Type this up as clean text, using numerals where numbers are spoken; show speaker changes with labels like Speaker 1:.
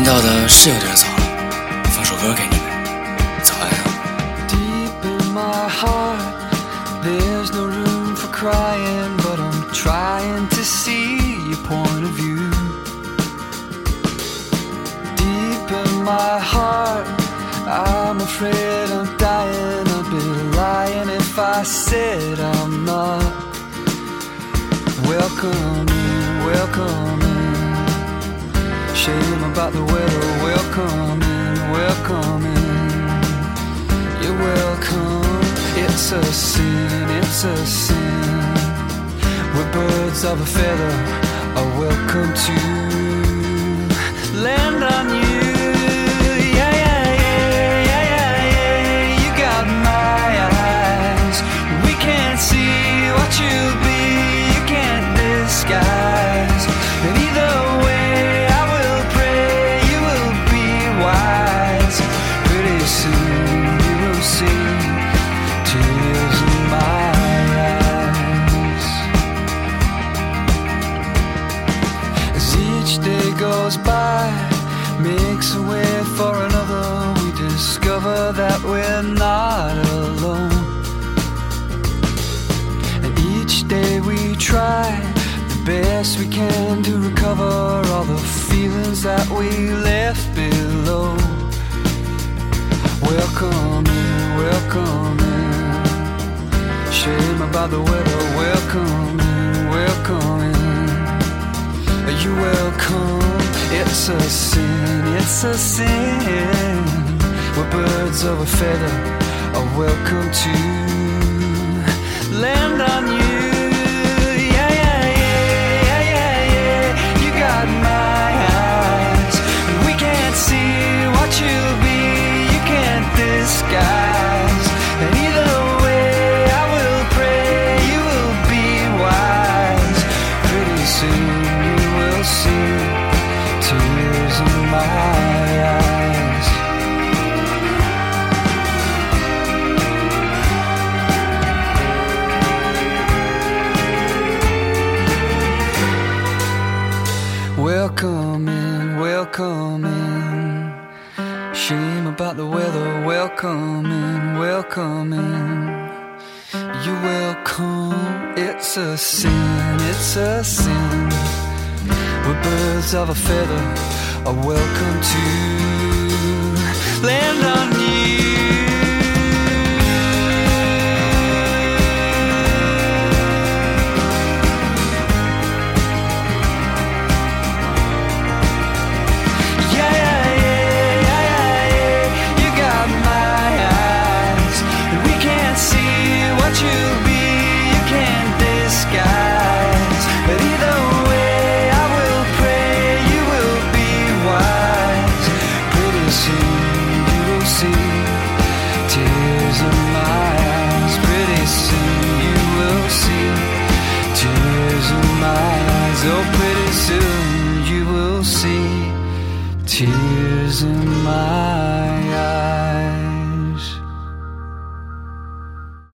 Speaker 1: 到的是有点早了，放首歌给你们，早安啊。
Speaker 2: Deep in my heart, there's no room for crying, but I'm trying to see your point of view. Deep in my heart, I'm afraid I'm dying. I'd be lying if I said I'm not. Welcome in, welcome in. Shame about the weather. Welcome in, welcome in. You're welcome. It's a sin, it's a sin. We're birds of a feather, are welcome to land on you. Yeah, yeah, yeah, yeah, yeah, yeah. You got my eyes. We can't see what you'll be, you can't disguise. And either way, I will pray you will be wise. Pretty soon you will see tears in my eyes. As each day goes by, makes a way for another, we discover that we're not alone. And each day we try the best we can to recover all the feelings that we left below. Welcome in, welcome in. Shame about the weather. Welcome in, welcome in. Are you welcome? It's a sin, it's a sin. We're birds of a feather, are welcome to land on you. Yeah, yeah, yeah, yeah, yeah, yeah. You got my eyes. We can't see what you'll be, you can't disguise. And either way, I will pray you will be wise. Pretty soon you will see tears in my eyes. Welcome in, welcome in. Shame about the weather. Welcome in, welcome in. You're welcome. It's a sin, it's a sin. We're birds of a feather, are welcome to land on you. You'll be, you can't disguise. But either way, I will pray you will be wise. Pretty soon you will see tears in my eyes. Pretty soon you will see tears in my eyes. Oh,